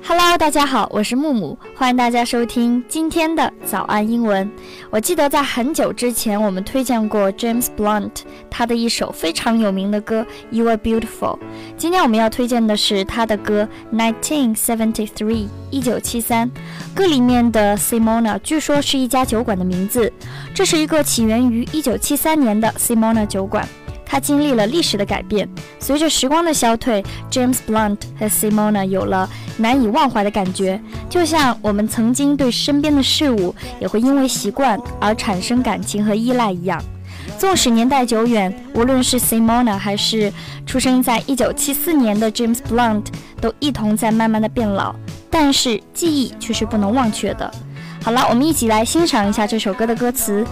Hello， 大家好，我是木木，欢迎大家收听今天的早安英文。我记得在很久之前，我们推荐过 James Blunt 他的一首非常有名的歌 You Are Beautiful。今天我们要推荐的是他的歌 1973 1973。歌里面的 Simona 据说是一家酒馆的名字，这是一个起源于1973年的 Simona 酒馆。它经历了历史的改变，随着时光的消退 James Blunt 和 Simona 有了难以忘怀的感觉，就像我们曾经对身边的事物也会因为习惯而产生感情和依赖一样。纵使年代久远，无论是 Simona 还是出生在1974年的 James Blunt 都一同在慢慢的变老，但是记忆却是不能忘却的。好了，我们一起来欣赏一下这首歌的歌词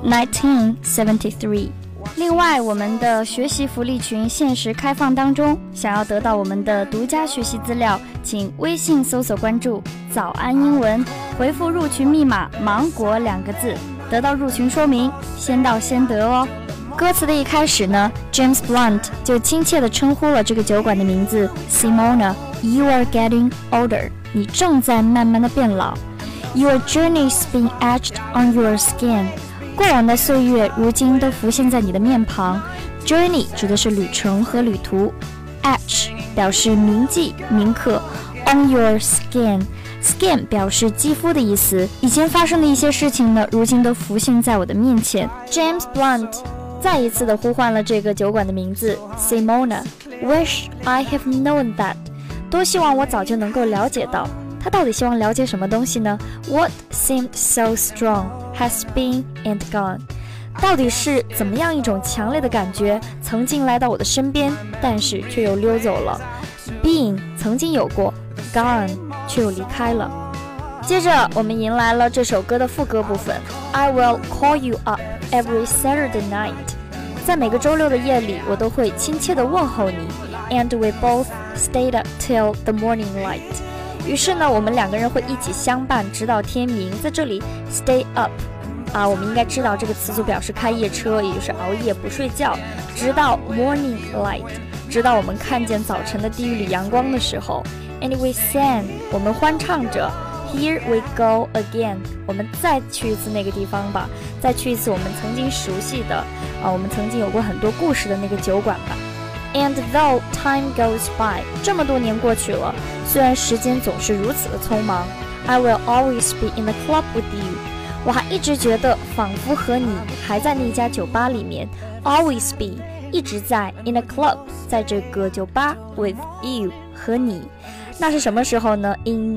1973。另外，我们的学习福利群限时开放当中，想要得到我们的独家学习资料，请微信搜索关注早安英文，回复入群密码芒果2个字，得到入群说明，先到先得哦。歌词的一开始呢， James Blunt 就亲切地称呼了这个酒馆的名字 Simona， You are getting older， 你正在慢慢的变老。 Your journey's being etched on your skin，过往的岁月如今都浮现在你的面庞。 Journey 指的是旅程和旅途， Etch 表示铭记铭刻， On your skin Skin 表示肌肤的意思。以前发生的一些事情呢，如今都浮现在我的面前。 James Blunt 再一次的呼唤了这个酒馆的名字 Simona， Wish I have known that， 多希望我早就能够了解到。他到底希望了解什么东西呢？ What seemed so strong has been and gone， 到底是怎么样一种强烈的感觉曾经来到我的身边，但是却又溜走了。 Been 曾经有过， gone 却又离开了。接着我们迎来了这首歌的副歌部分 I will call you up every Saturday night， 在每个周六的夜里我都会亲切地问候你。 And we both stayed up till the morning light，于是呢，我们两个人会一起相伴直到天明。在这里 stay up 我们应该知道这个词组表示开夜车，也就是熬夜不睡觉，直到 morning light， 直到我们看见早晨的第一缕阳光的时候。 And we sang， 我们欢唱着 Here we go again， 我们再去一次那个地方吧，再去一次我们曾经熟悉的我们曾经有过很多故事的那个酒馆吧。And though time goes by， 这么多年过去了，虽然时间总是如此的匆忙， I will always be in the club with you， 我还一直觉得仿佛和你还在那家酒吧里面。 Always be 一直在 in a club， 在这个酒吧 with you 和你。那是什么时候呢？ In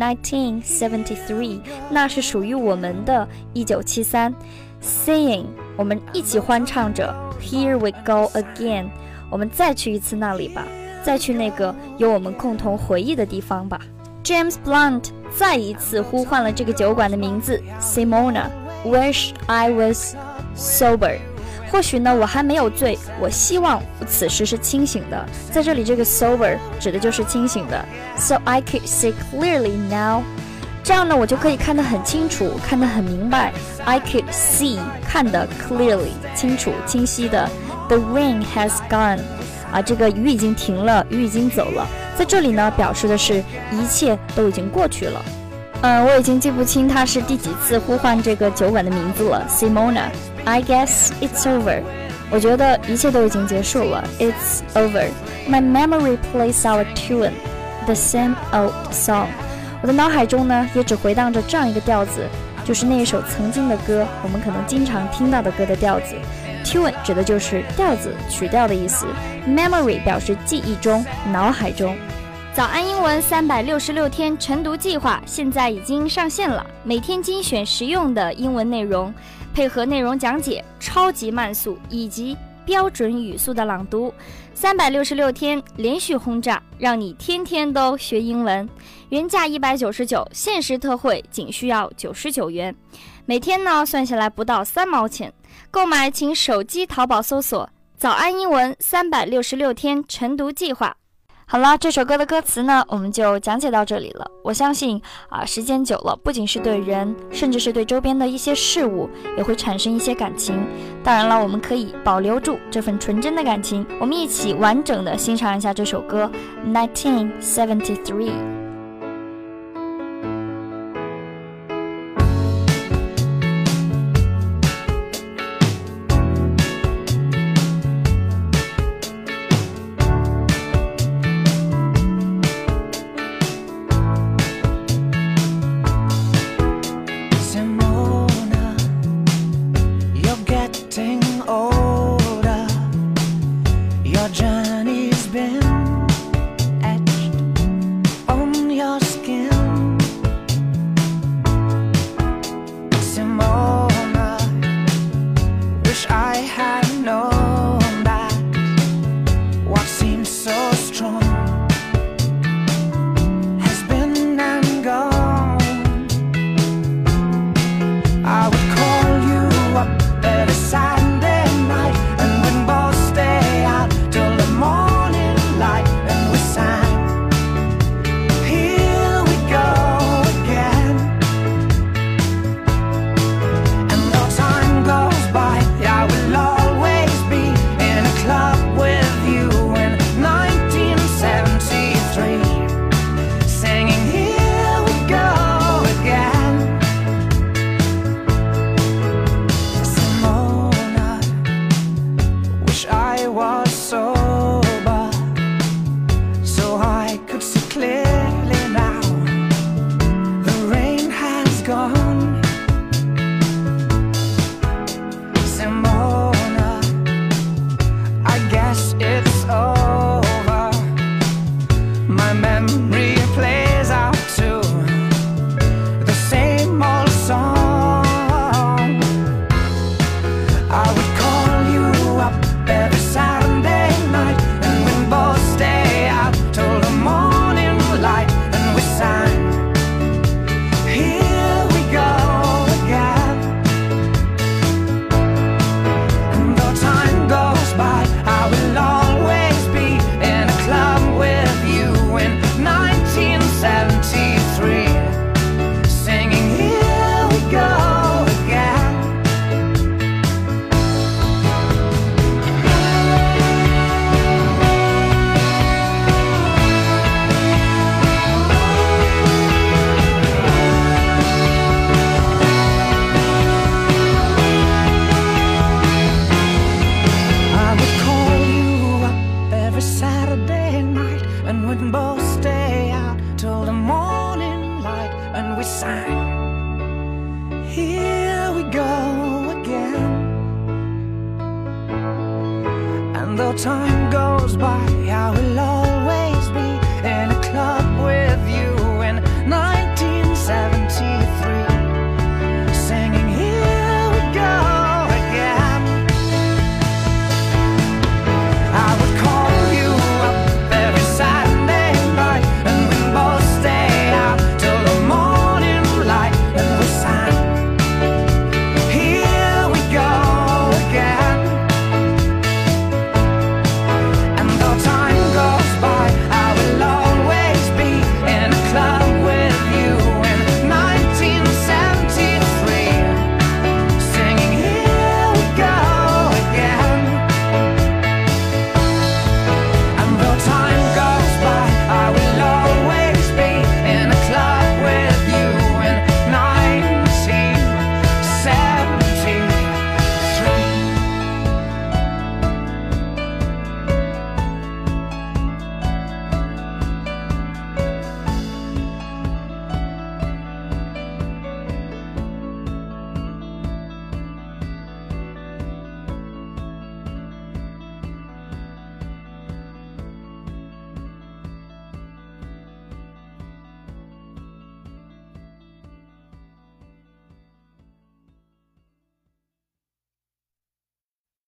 1973， 那是属于我们的1973。 Singing 我们一起欢唱着 Here we go again，我们再去一次那里吧，再去那个有我们共同回忆的地方吧。 James Blunt 再一次呼唤了这个酒馆的名字 Simona， Wish I was sober， 或许呢我还没有醉，我希望我此时是清醒的。在这里这个 sober 指的就是清醒的。 So I could see clearly now， 这样呢我就可以看得很清楚，看得很明白。 I could see 看得 clearly 清楚清晰的。The rain has gone， 这个雨已经停了，雨已经走了。在这里呢，表示的是一切都已经过去了。我已经记不清他是第几次呼唤这个酒馆的名字了。Simona， I guess it's over， 我觉得一切都已经结束了。It's over。 My memory plays our tune， the same old song。 我的脑海中呢，也只回荡着这样一个调子，就是那一首曾经的歌，我们可能经常听到的歌的调子。Tune 指的就是调子曲调的意思， Memory 表示记忆中脑海中。早安英文366天晨读计划现在已经上线了，每天精选实用的英文内容，配合内容讲解、超级慢速以及标准语速的朗读，366天连续轰炸，让你天天都学英文。原价199，限时特惠仅需要99元，每天呢算下来不到3毛钱。购买请手机淘宝搜索早安英文366天晨读计划。好了，这首歌的歌词呢，我们就讲解到这里了。我相信时间久了，不仅是对人，甚至是对周边的一些事物，也会产生一些感情。当然了，我们可以保留住这份纯真的感情。我们一起完整的欣赏一下这首歌 1973。 Your journey's been etched on your skin. Simona, wish I had known that what seemed so strong has been and gone. I would call you up every Saturday night, and we'd both stay out till the morning light, and we sang, here we go again. And though time goes by, I will always be in a club with you in 1973, singing, here we go again. Simona, wish I was sober so I could see clearly now. The rain has gone. Simona, I guess it's over. My memory plays out to the same old song. I would call you up every Saturday night, and we'd both stay out till the morning light, and we sang, here we go again. And though time goes by, I will always be in a club with you in 1973, singing, here we go again. I would call you up every Saturday night, and we'd both stay out till the morning light, and we sang, here we go again. And though time goes by, I will always